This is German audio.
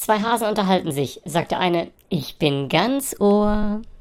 Zwei Hasen unterhalten sich, sagt der eine, ich bin ganz Ohr.